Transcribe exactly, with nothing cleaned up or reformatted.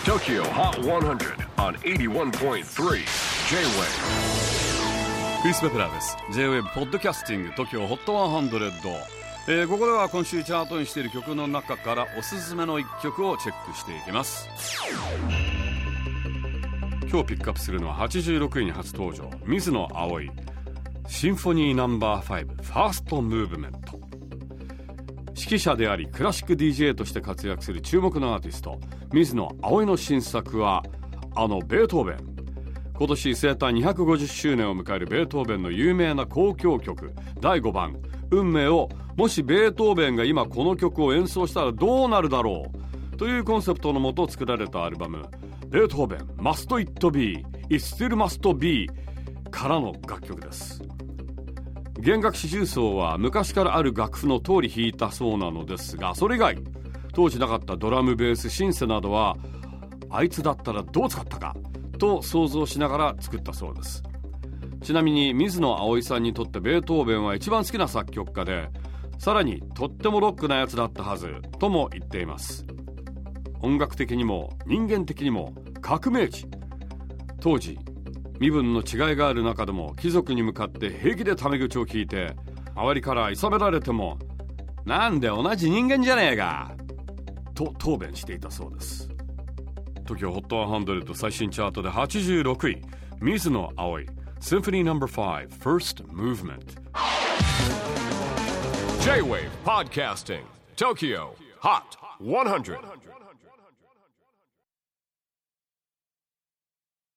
Tokyo Hot one hundred on エイティワンポイントスリー J-Wave。 クリス・ベプラーです。 J-Wave ポッドキャスティング Tokyo Hot ワンハンドレッド、えー、ここでは今週チャートにしている曲の中からおすすめのいっきょくをチェックしていきます。今日ピックアップするのははちじゅうろくいに初登場、水野葵、シンフォニーナンバーファイブファーストムーブメント。指揮者でありクラシック ディージェー として活躍する注目のアーティスト水野葵の新作はあのベートーベン。今年生誕にひゃくごじゅっしゅうねんを迎えるベートーベンの有名な交響曲だいごばん運命を、もしベートーベンが今この曲を演奏したらどうなるだろうというコンセプトのもと作られたアルバムベートーベン Must It Be It Still Must Be からの楽曲です。弦楽四重奏は昔からある楽譜の通り弾いたそうなのですが、それ以外当時なかったドラム、ベース、シンセなどはあいつだったらどう使ったかと想像しながら作ったそうです。ちなみに水野葵さんにとってベートーベンは一番好きな作曲家で、さらにとってもロックなやつだったはずとも言っています。音楽的にも人間的にも革命児。当時身分の違いがある中でも貴族に向かって平気でタメ口を聞いて、周りから諌められてもなんで同じ人間じゃねえかと答弁していたそうです。 Tokyo ホットワンハンドレッド最新チャートではちじゅうろくい、水野葵 Symphony ナンバーファイブ First Movement。 J-Wave Podcasting Tokyo Hot ワンハンドレッド